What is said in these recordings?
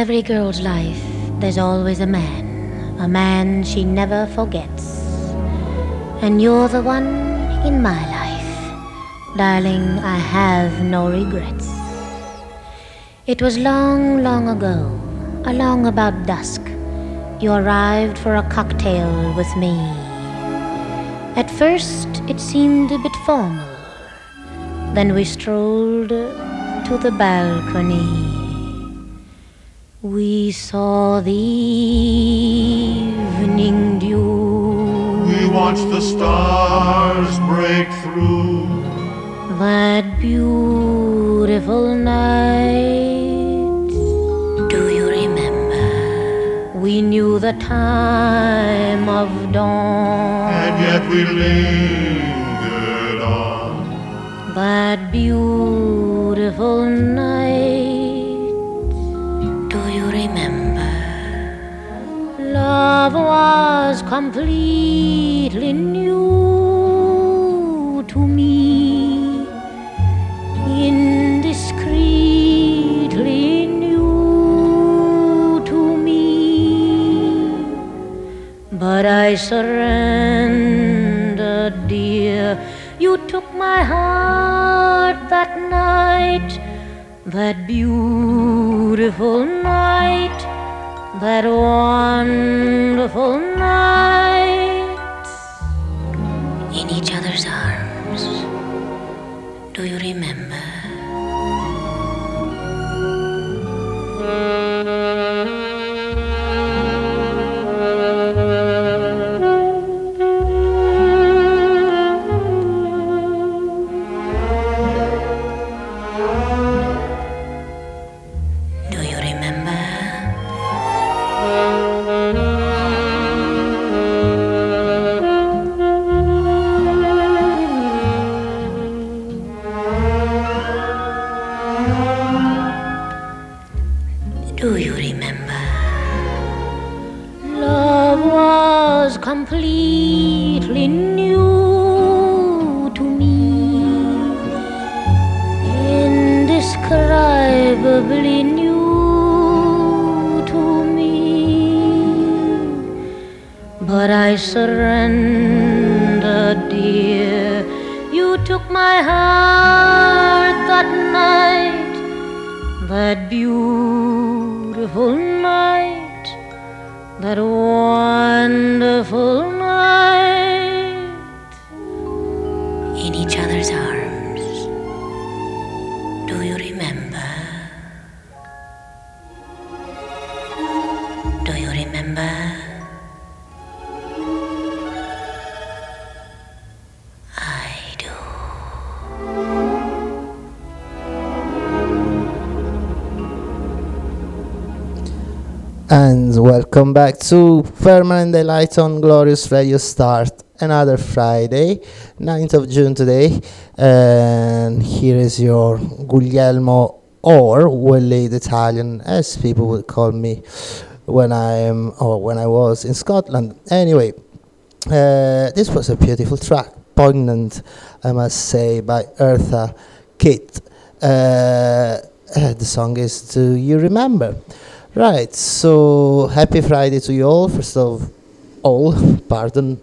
every girl's life, there's always a man she never forgets. And you're the one in my life. Darling, I have no regrets. It was long, long ago, along about dusk, you arrived for a cocktail with me. At first, it seemed a bit formal. Then we strolled to the balcony. We saw the evening dew. We watched the stars break through. That beautiful night. Do you remember? We knew the time of dawn. And yet we lingered on. That beautiful night. Love was completely new to me, indiscreetly new to me. But I surrendered, dear. You took my heart that night, that beautiful night. That wonderful night, in each other's arms. Do you remember? Completely new to me, indescribably new to me. But I surrendered, dear. You took my heart that night, that beautiful night, that wonderful night, in each other's arms. Do you remember? Do you remember? I do. And welcome back to Permanent Delight on Glorious Radio Start. Another Friday, 9th of June today. And here is your Guglielmo, or Willie the Italian, as people would call me when I was in Scotland. Anyway, this was a beautiful track, poignant, I must say, by Eartha Kitt. The song is Do You Remember? Right, so happy Friday to you all, first of all, pardon.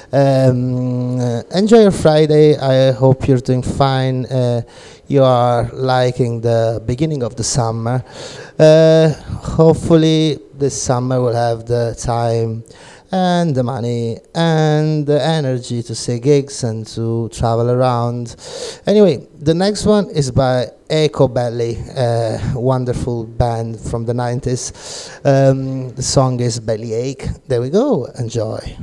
Enjoy your Friday, I hope you're doing fine, you are liking the beginning of the summer. Hopefully this summer we'll have the time and the money and the energy to see gigs and to travel around. Anyway, the next one is by Echo Belly, a wonderful band from the 90s. The song is Bellyache. There we go. Enjoy.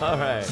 All right.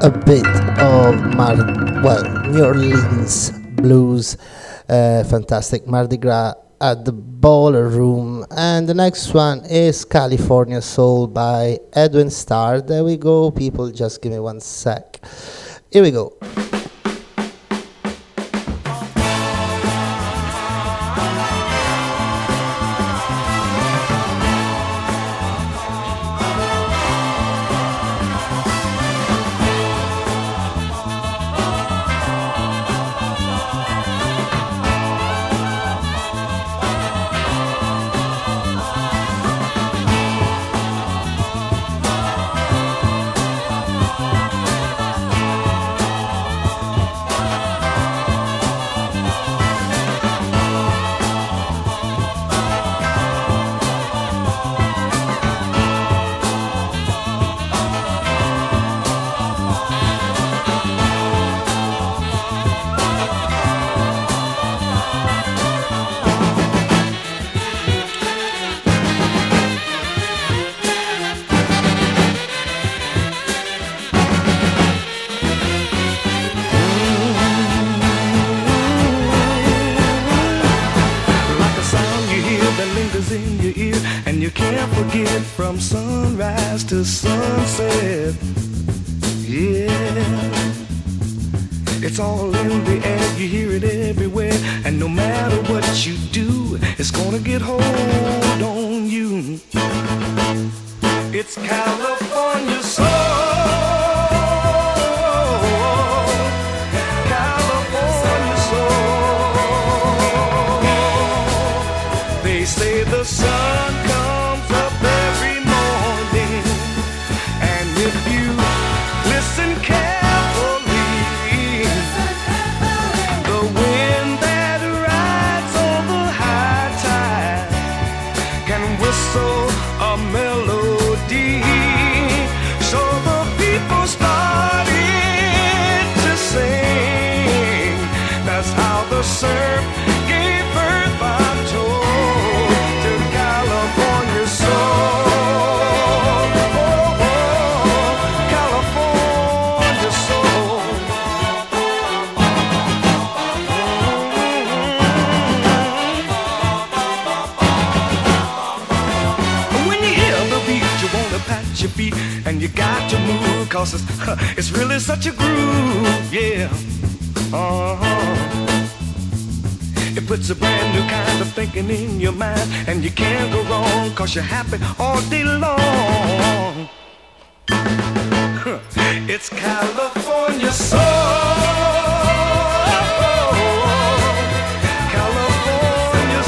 a bit of New Orleans blues, fantastic Mardi Gras at the Baller Room, and the next one is California Soul by Edwin Starr. There we go, people, just give me one sec. Here we go. From sunrise to sunset, yeah, it's all in the air, you hear it everywhere, and no matter what you do, it's gonna get hold on you. It's California soul, California soul. They say the sun comes up every morning, and if you listen carefully, the wind that rides on the high tide can whistle a melody. So the people started to sing. That's how the surf gave birth, I'm told, to California soul. California soul. When you hear the beat, you wanna pat your feet, and you got to move, cause it's really such a groove, yeah. It puts a brand new kind of thinking in your mind, and you can't go wrong, cause you're happy all day long. It's California soul, California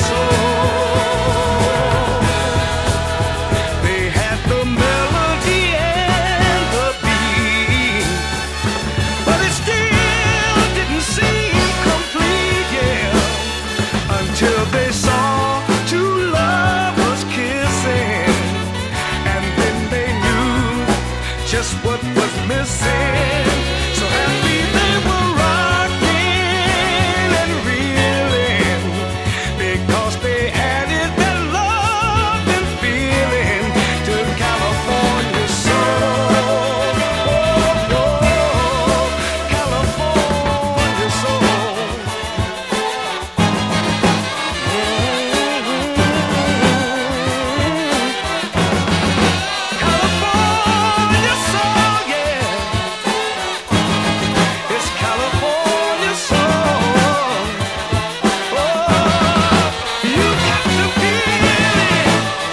soul. They had the melody and the beat, but it still didn't seem complete, yeah, until they saw two lovers kissing, and then they knew just what was missing. So happy they were rocking and reeling, because they added that love and feeling to California soul. California soul. California soul, yeah. It's California soul. Oh, you got to feel it.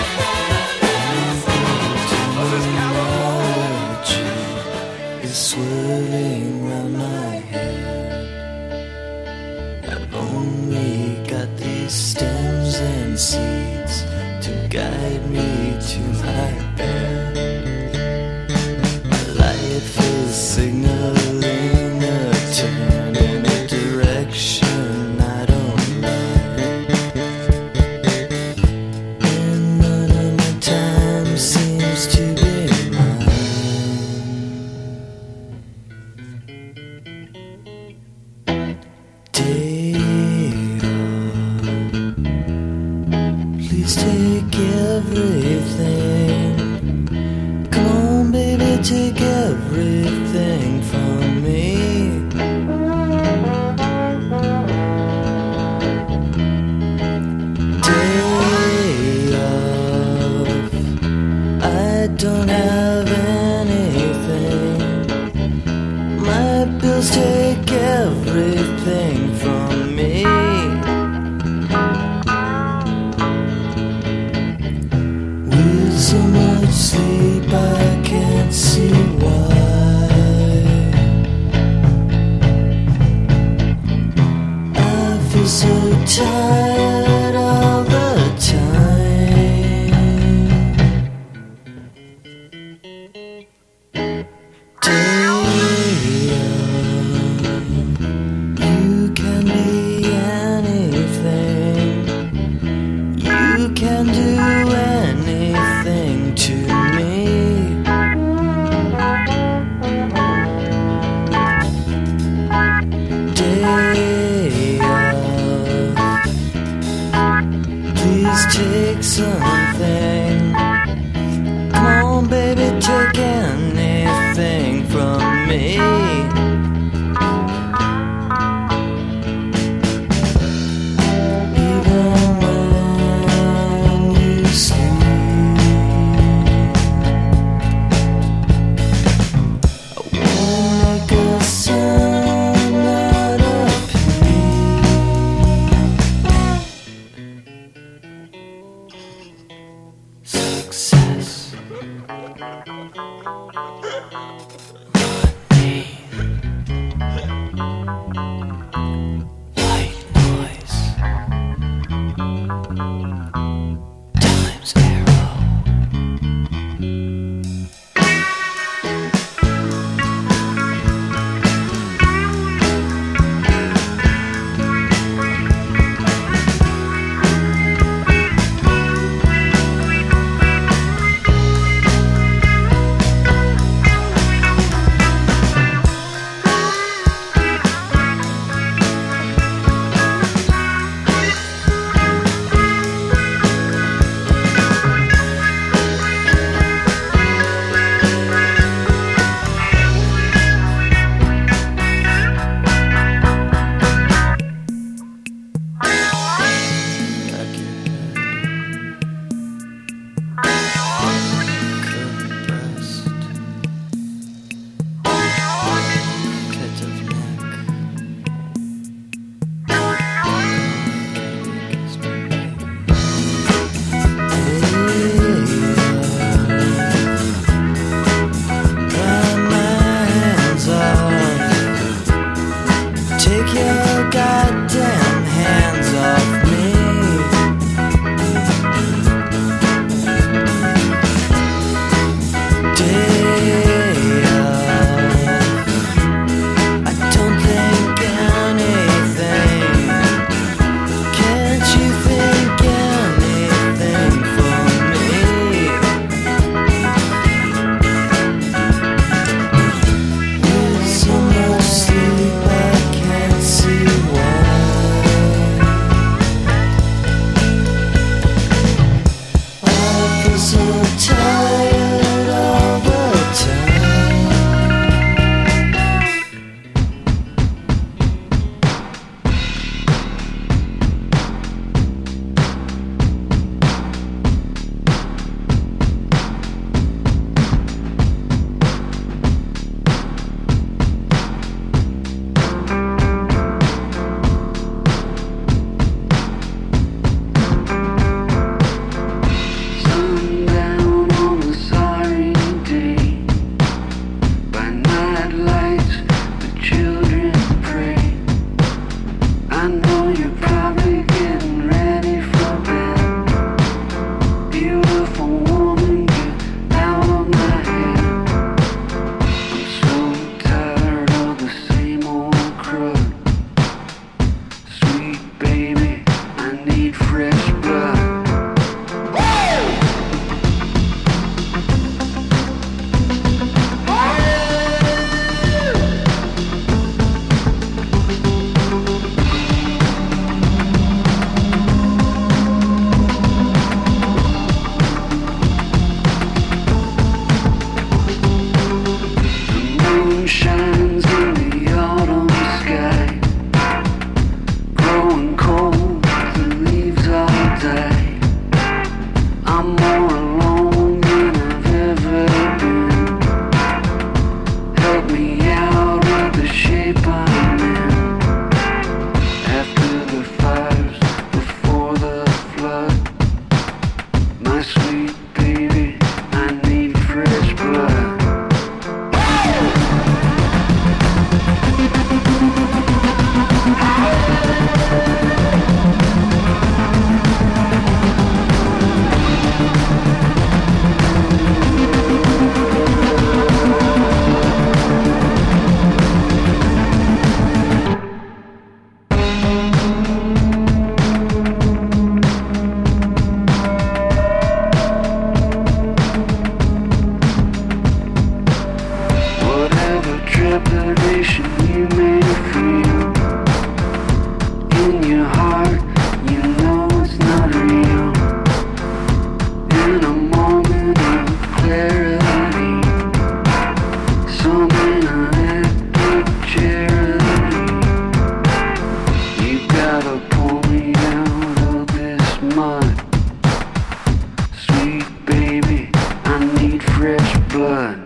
'Cause it's California. Is swirling round my head. I've only got these stems and seeds to guide me to my bed. My life is signaling a turn in a direction I don't like, and none of my time seems to be mine. Please take everything. Come on, baby, take everything from feel so tired all the time. You can be anything. You can do anything to me. Please take something. Come on, baby, take anything from me. Even when you sleep, I wanna make a sound out of success. White noise times arrow. Take your goddamn hands off me. I don't think anything. Can't you think anything for me? With so much sleep I can't see why. I feel so tired all the time. Sundown on a sorry day. By night lights, the children pray. I know you're probably getting ready for bed. Beautiful woman, get out of my head. I'm so tired of the same old crud. Sweet baby, I need fresh blood. gotta pull me out of this mud. Sweet baby, I need fresh blood.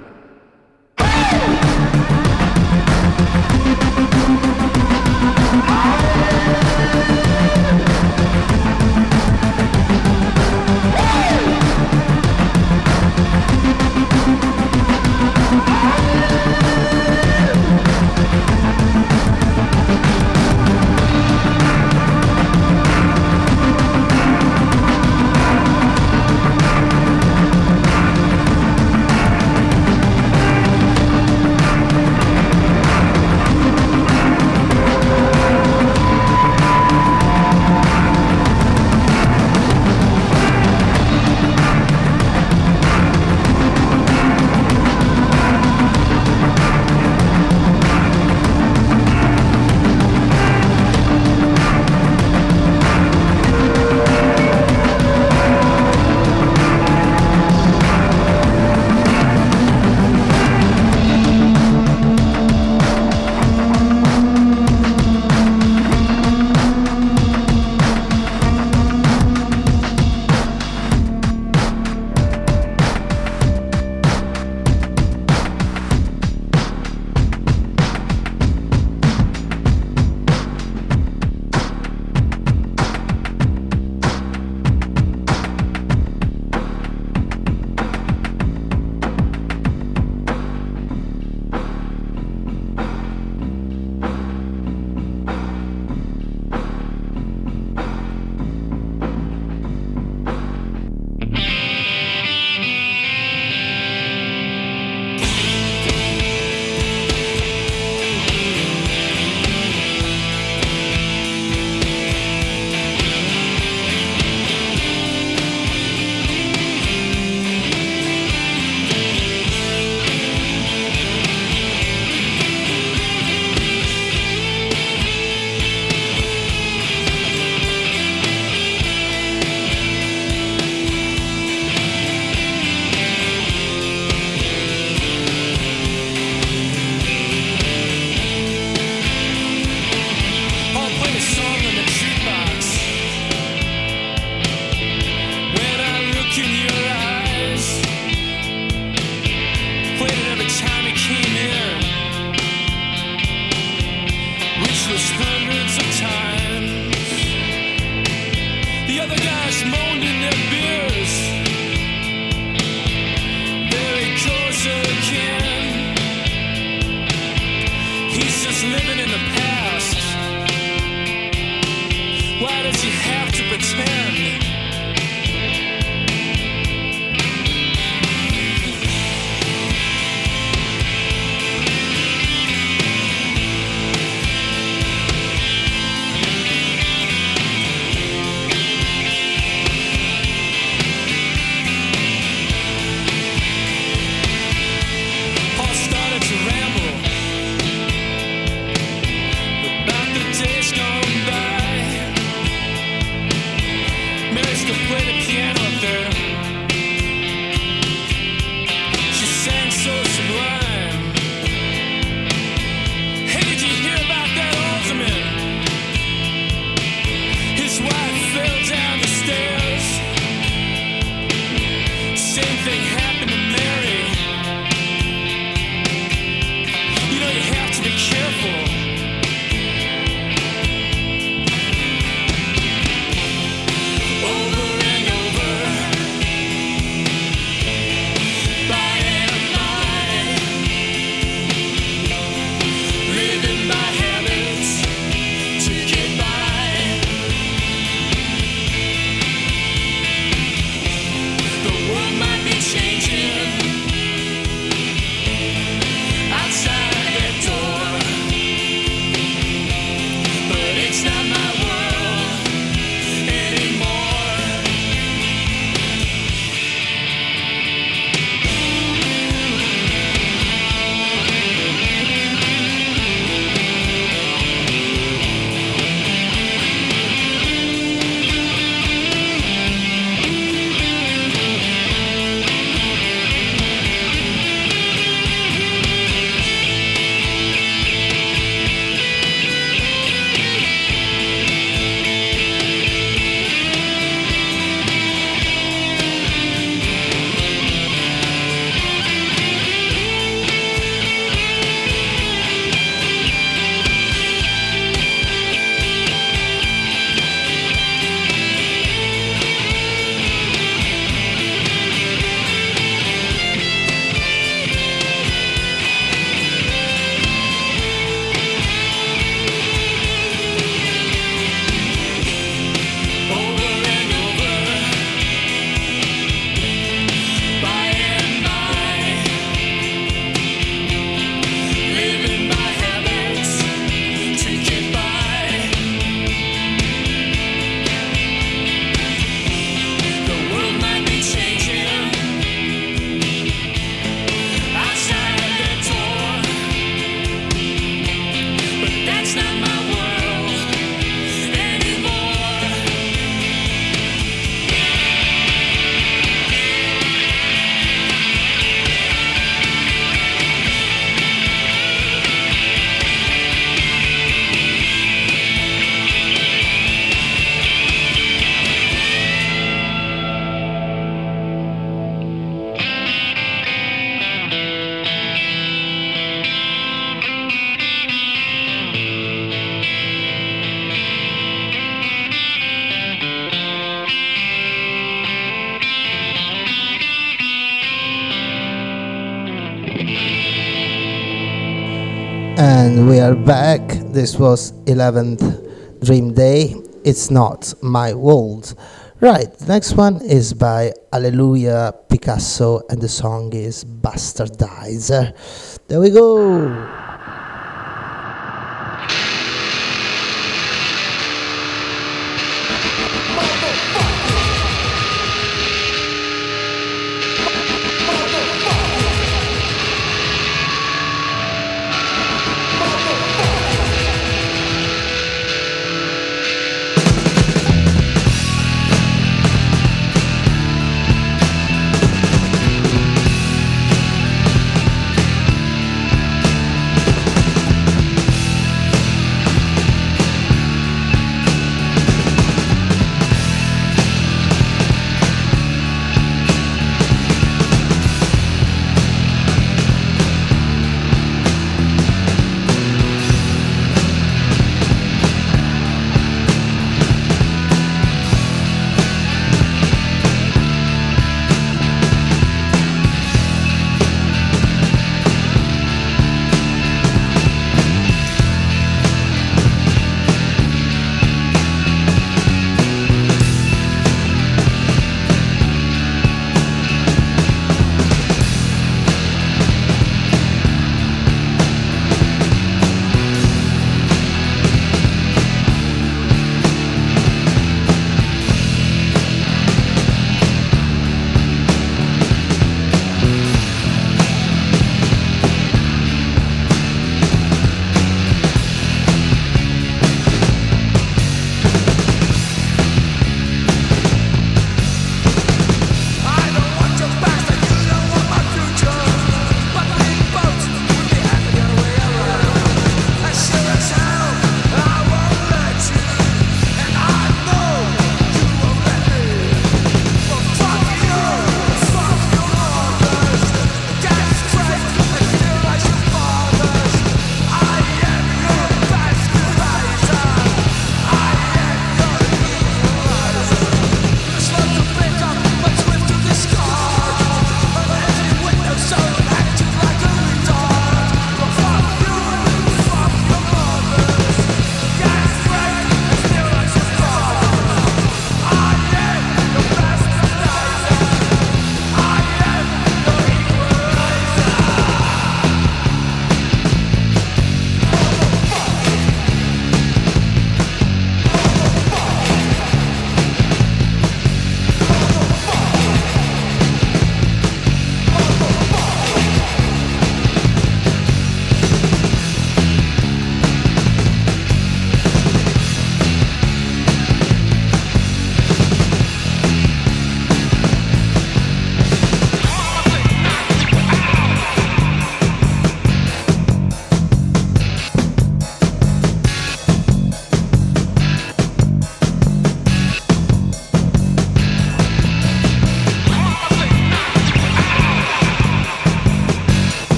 And we are back. This was 11th Dream Day. It's Not My World. Right, the next one is by Alleluia Picasso, and the song is Bastardizer. There we go.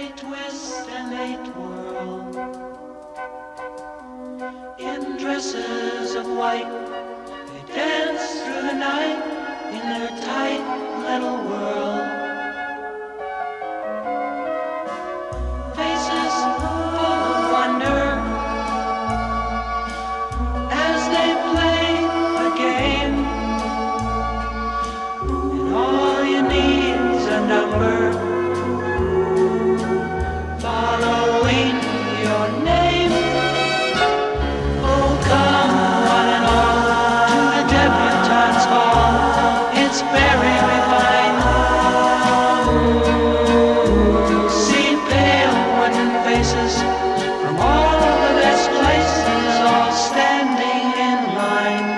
they twist and they twirl in dresses of white. They dance through the night in their tight little world. Faces full of wonder as they play a game. And all you need's a number following your name. Oh, come one and all to the debutante's ball. It's very refined. You'll see pale wooden faces from all the best places, all standing in line.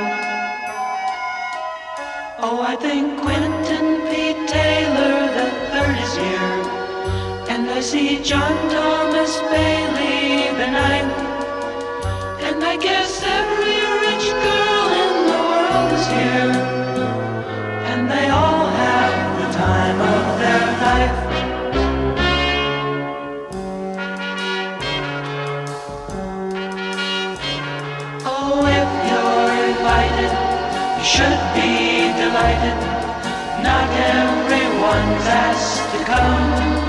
Oh, I think Quentin P. Taylor the third is here, and I see John Thomas Bailey the ninth, and I guess every rich girl in the world is here, and they all have the time of their life. Oh, if you're invited, you should be delighted. Not everyone's asked to come.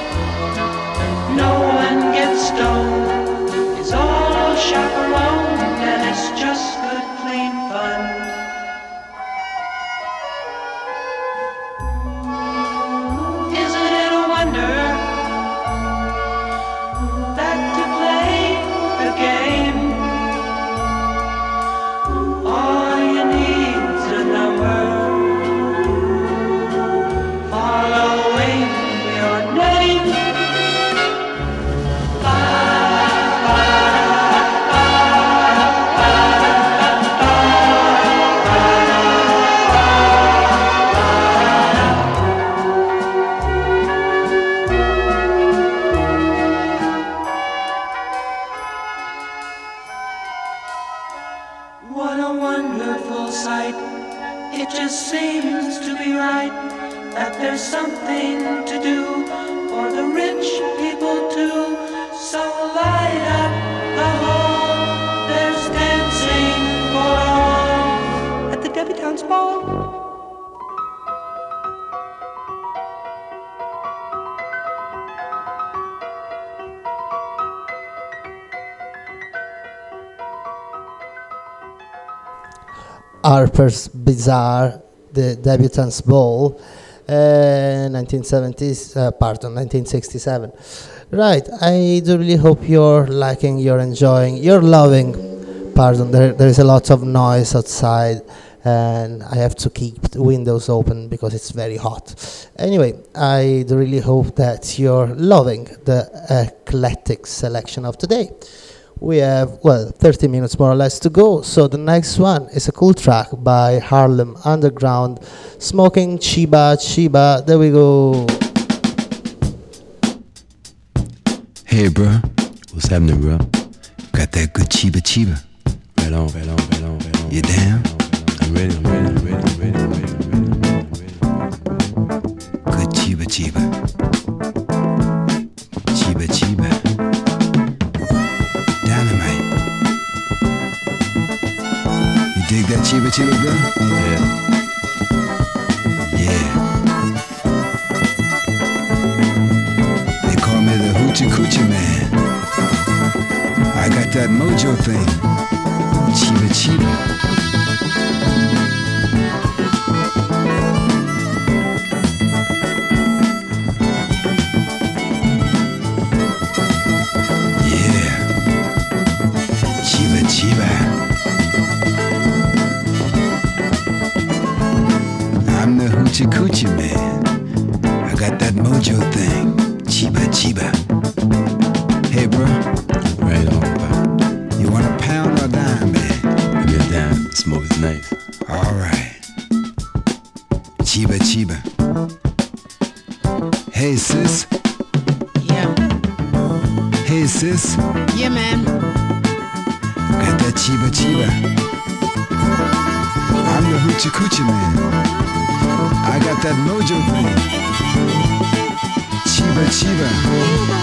No one gets stoned. It's all chaperoned, and it's just good, clean fun. Isn't it a wonder that to play the game, all you need's a number following your name. What a wonderful sight. It just seems to be right that there's something to do for the rich people too. So light up the hall. There's dancing for all at the debutante's ball. Harper's Bazaar, the Debutante's Ball, 1967. Right, I do really hope you're liking, you're enjoying, you're loving. Pardon, there is a lot of noise outside, and I have to keep the windows open because it's very hot. Anyway, I do really hope that you're loving the eclectic selection of today. We have, 30 minutes more or less to go, so the next one is a cool track by Harlem Underground, Smoking Chiba Chiba. There we go. Hey, bro. What's happening, bro? Got that good Chiba Chiba. Right on. You down? I'm ready. Good Chiba Chiba. Chiba Chiba. Dynamite. You dig that Chiba Chiba, bro? Yeah. They call me the Hoochie Coochie Man. I got that mojo thing. Chiba Chiba. I'm the Hoochie Coochie Man. I got that mojo thing. Chiba Chiba. Hey, bro. Right on, bro. You want a pound or a dime, man? Give me a dime. Smoke is nice. All right. Chiba Chiba. Hey, sis. Yeah. Hey, sis. Yeah, man. Got that Chiba Chiba. I'm the Hoochie Coochie Man. I got that mojo thing. Chiba Chiba.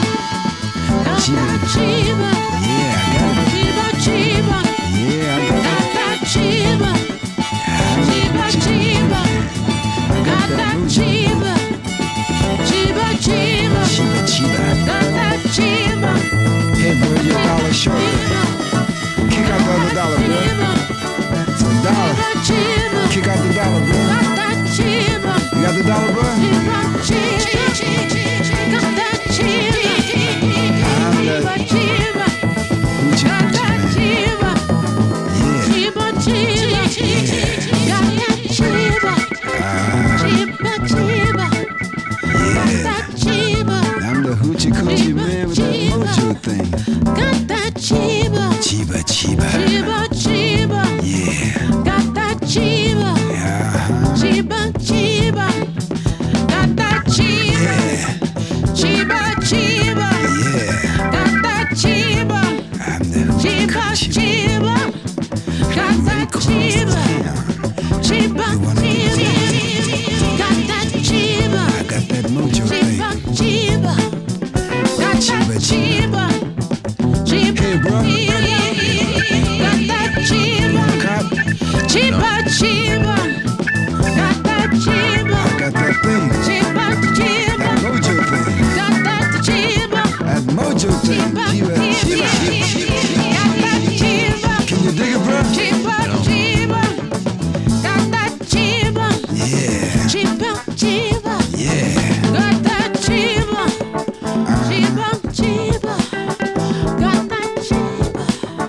thing. Got that chiba. Chiba, chiba. Chiba, chiba. Yeah. Got that chiba. Uh-huh. Chiba, chiba. Got that chiba. Yeah. Chiba, chiba. Yeah. Got that chiba. I'm the hoochie Chiba, coochie. chiba. Got that chiba. Chiba, chiba. Got that chiba. I got that mojo thing. Chiba, chiba. Got that chiba. Chiba, Hey, bro. got that chiba. Cop, Chiba, chiba. Got that chiba. I got that thing. Chiba, chiba. That mojo thing. Got that chiba. That mojo thing. Chiba, Chiba, chiba, chiba. got that chiba. Can you dig it, bro? Chiba, chiba. Got that chiba. Yeah. Chiba, chiba. Yeah. Got that chiba. Chiba, chiba. Got that chiba.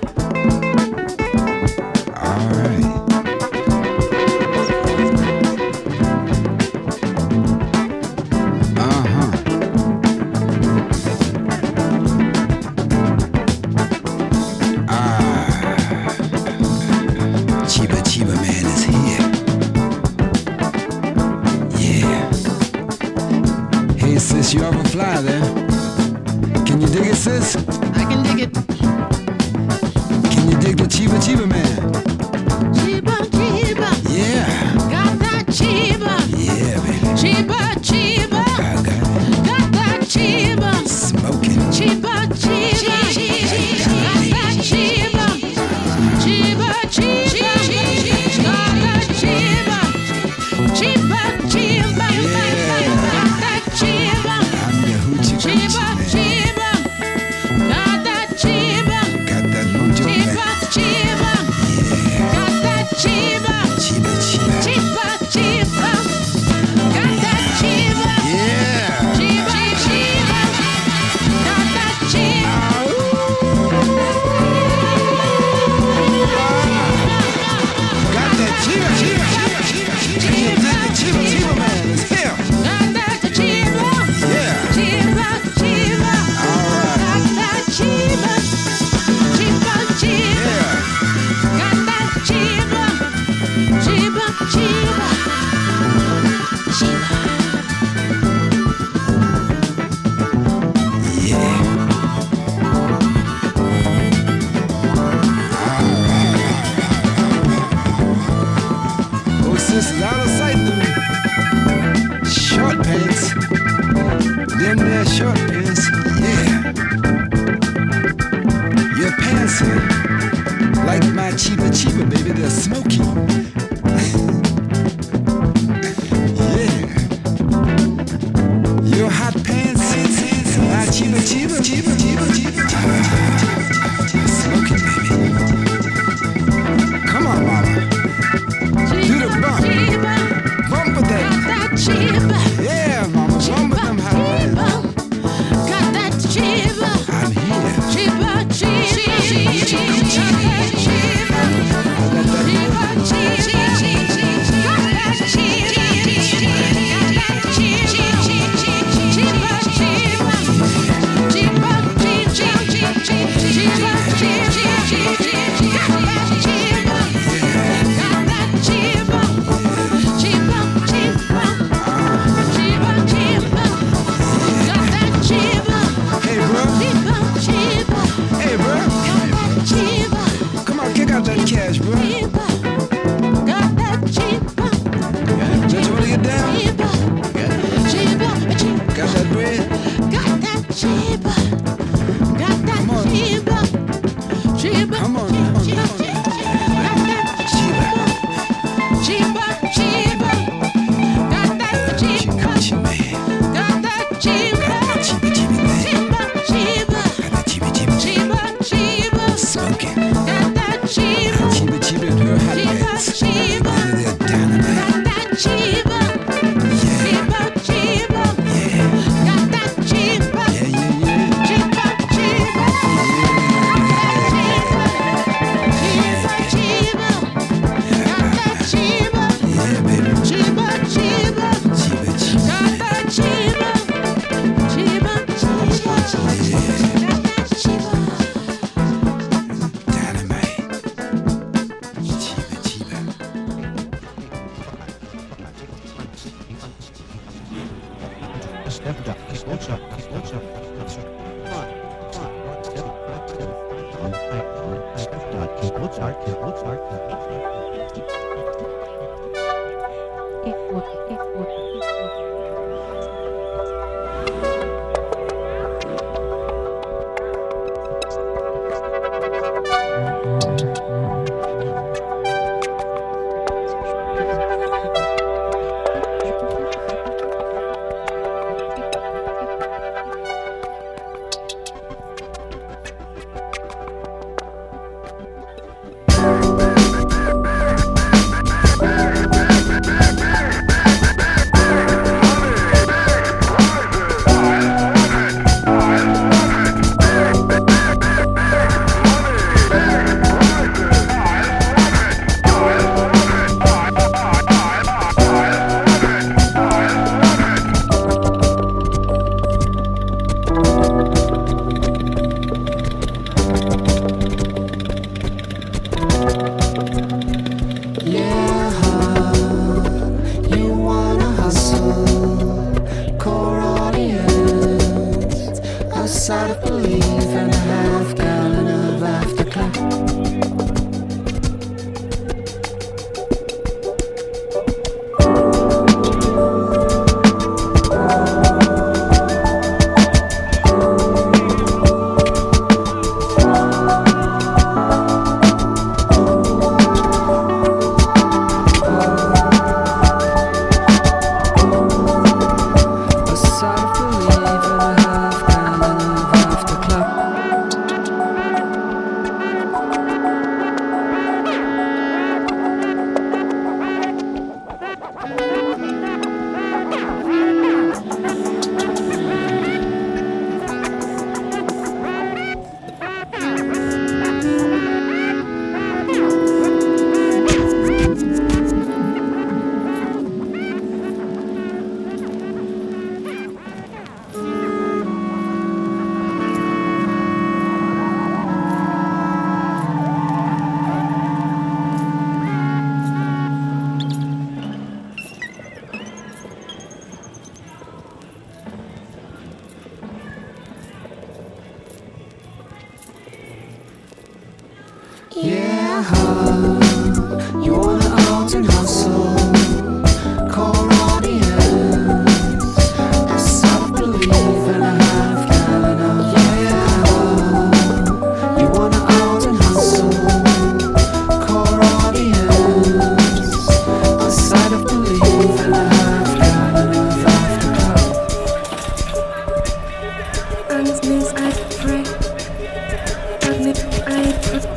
All right. Uh-huh. Chiba Chiba Man is here. Yeah. Hey sis, you ever fly there? Can you dig it, sis? I can dig it. Can you dig the Chiba Chiba Man? Chiba, chiba. Yeah. Got that chiba. Yeah, baby. Chiba, chiba. I got it. Got that chiba. Smoking. Chiba, chiba. Got that chiba. Chiba, chiba. Got that chiba. Chiba, chiba. Got that chiba. I'm the hoochie Chiba, coochie man. chiba. Got that chiba. Got that mojo Chiba, thing. chiba. Yeah. Got that chiba. Chiba Chiba. Chiba, chiba. Got that chiba. Yeah. Chiba, chiba. Got that chiba. Got that Chiba Chiba. Can you dig the Chiba Chiba Man is here? Got that chiba. Yeah. Chiba, chiba. Got that chiba. Chiba, chiba. Yeah. Got that chiba. Chiba, chiba. Chiba. Yeah. Oh, sisters, out of sight, them short pants. Them there short pants, yeah. Your pants are like my Chiba Chiba, baby, they're smoky. Yeah. Your hot pants, my Chiba Chiba, Chiba Chiba, Chiba Chiba. Smoking, baby. Come on, mama. Do the bump. Chiba. Bump with Got that. that chiba. Yeah, mama. Bump with them hot pants. Got that chiba. I'm here. Chiba, chiba. Got that chiba. I got that Chiba, chiba. You wanna out and hustle, call audience. I sort of believe in a half gallon of yeah. You wanna out and hustle, call audience. I sort of believe in a half gallon of afterglow. And it means I pray. And it I pray.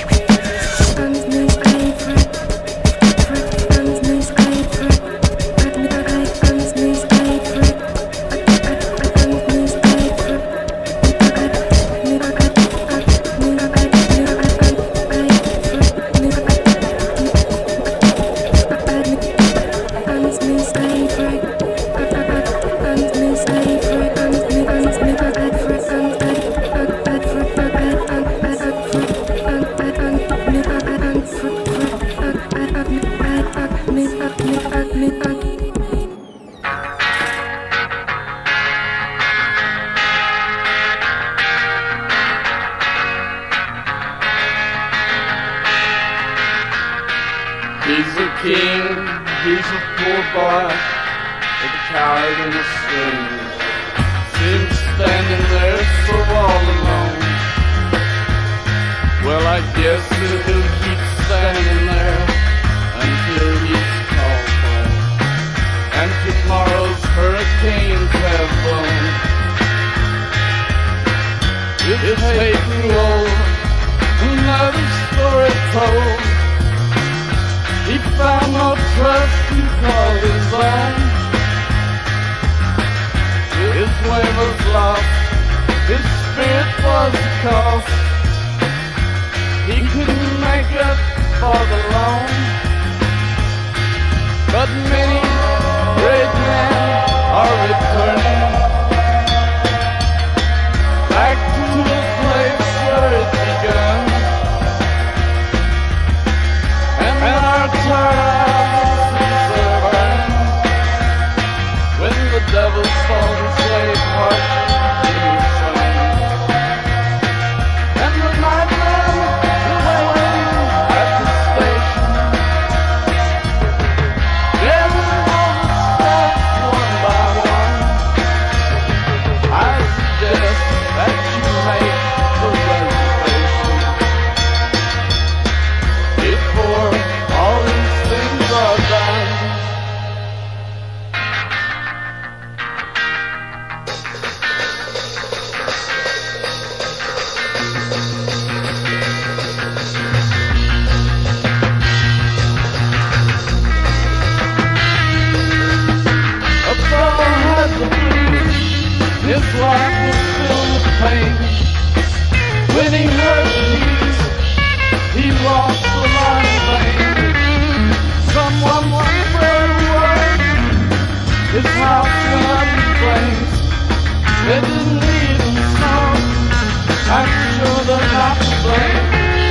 He's a king, he's a poor boy, a coward in a string. Seems standing there so all alone. Well, I guess that he'll keep standing there until he's called for. And tomorrow's hurricanes have blown. It's taking over, another story told. He found no trust he called his own. His way was lost, his spirit was the cost. He couldn't make up for the loan. But many great men are returning back to the place where it begun. And our tired eyes are burning when the devil's falling. His life was filled with pain. When he heard the news, he lost the line in vain. Someone spread word, his house went up in flames. It didn't even snow, I'm sure they're not to blame.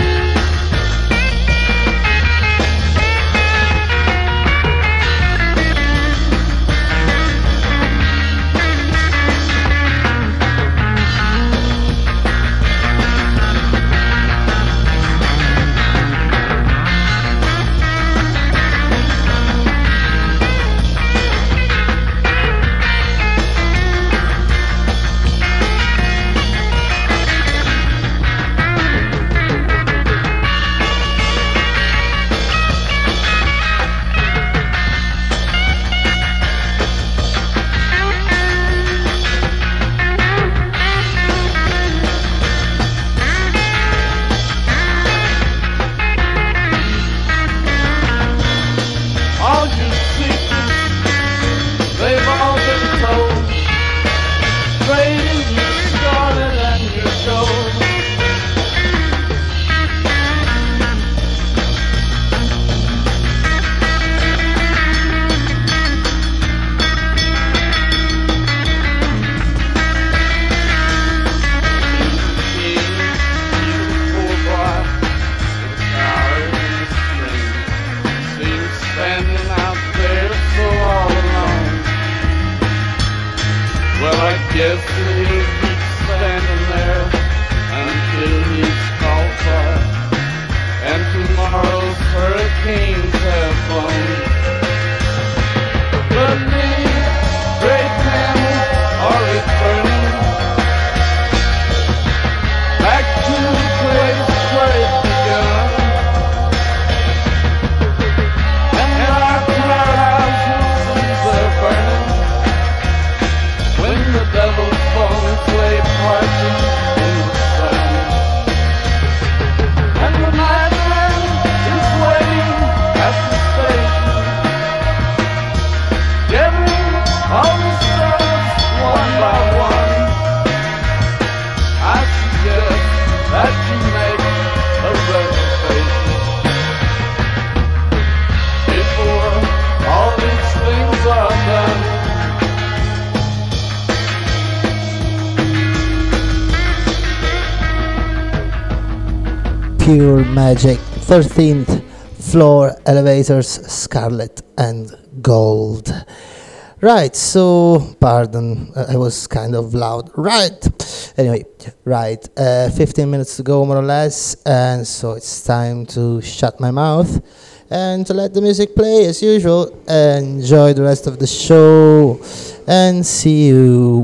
Pure Magic, 13th Floor Elevators, Scarlet and Gold. Right, so, pardon, I was kind of loud. Right, anyway, right, 15 minutes to go more or less, and so it's time to shut my mouth and to let the music play as usual. Enjoy the rest of the show and see you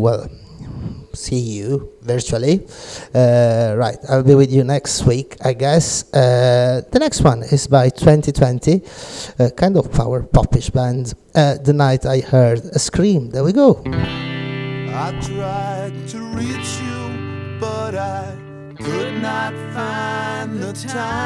virtually. Right, I'll be with you next week, I guess. The next one is by 2020, a kind of power popish band. The Night I Heard a Scream. There we go. I tried to reach you, but I could not find the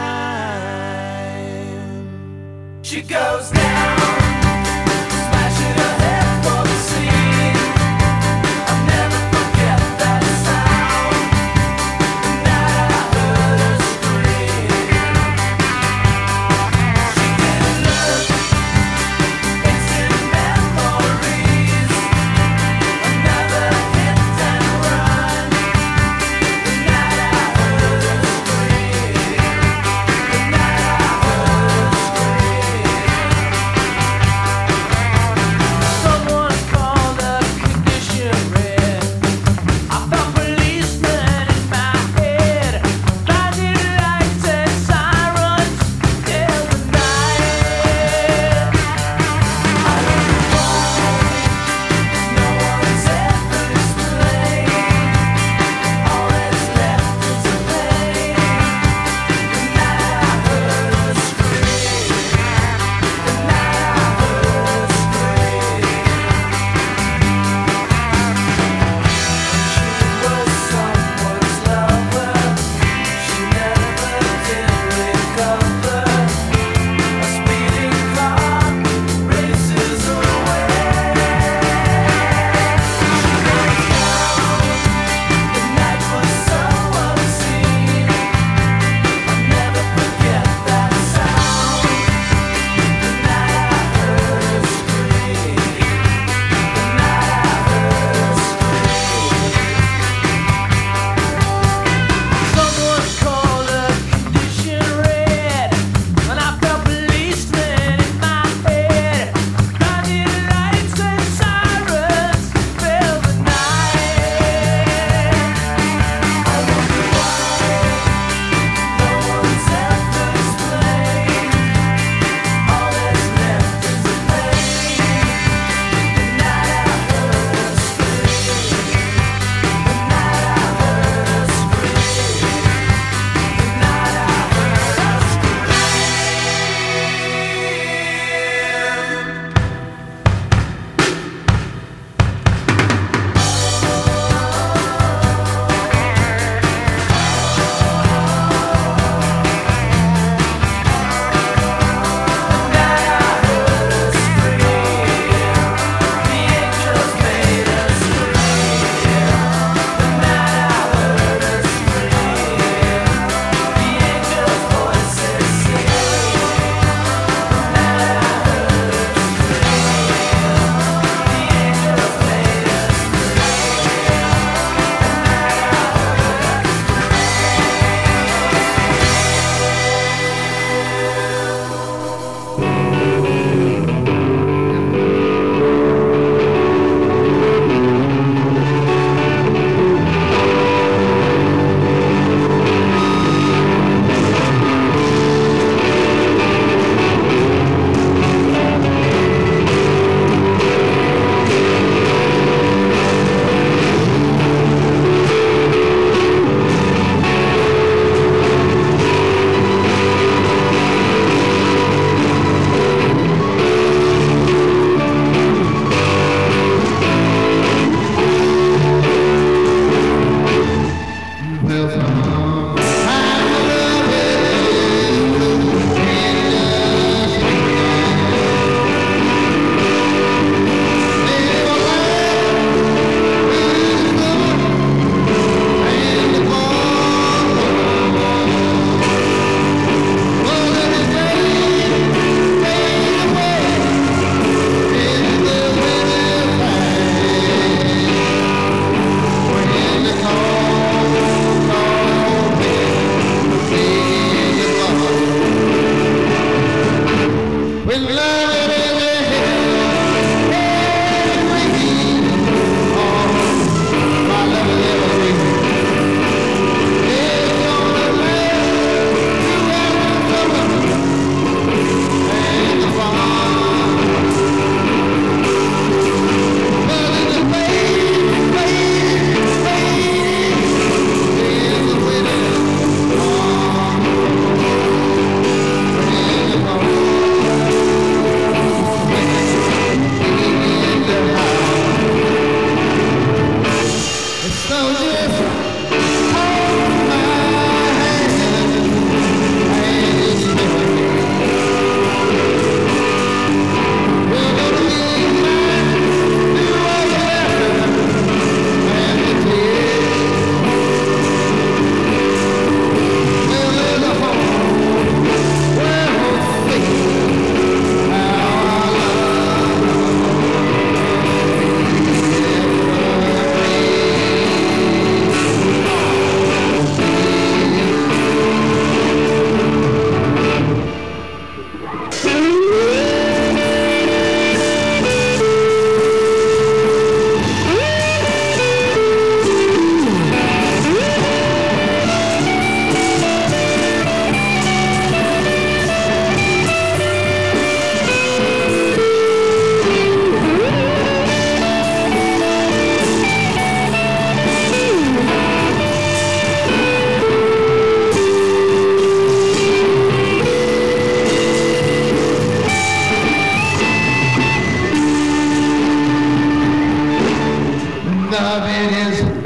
time. She goes down, smashing her head for the scene. I'll never forget that sound. The night I heard her scream. She didn't look, instant memories. Another hit and run. The night I heard her scream. The night I heard her scream.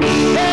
Hey!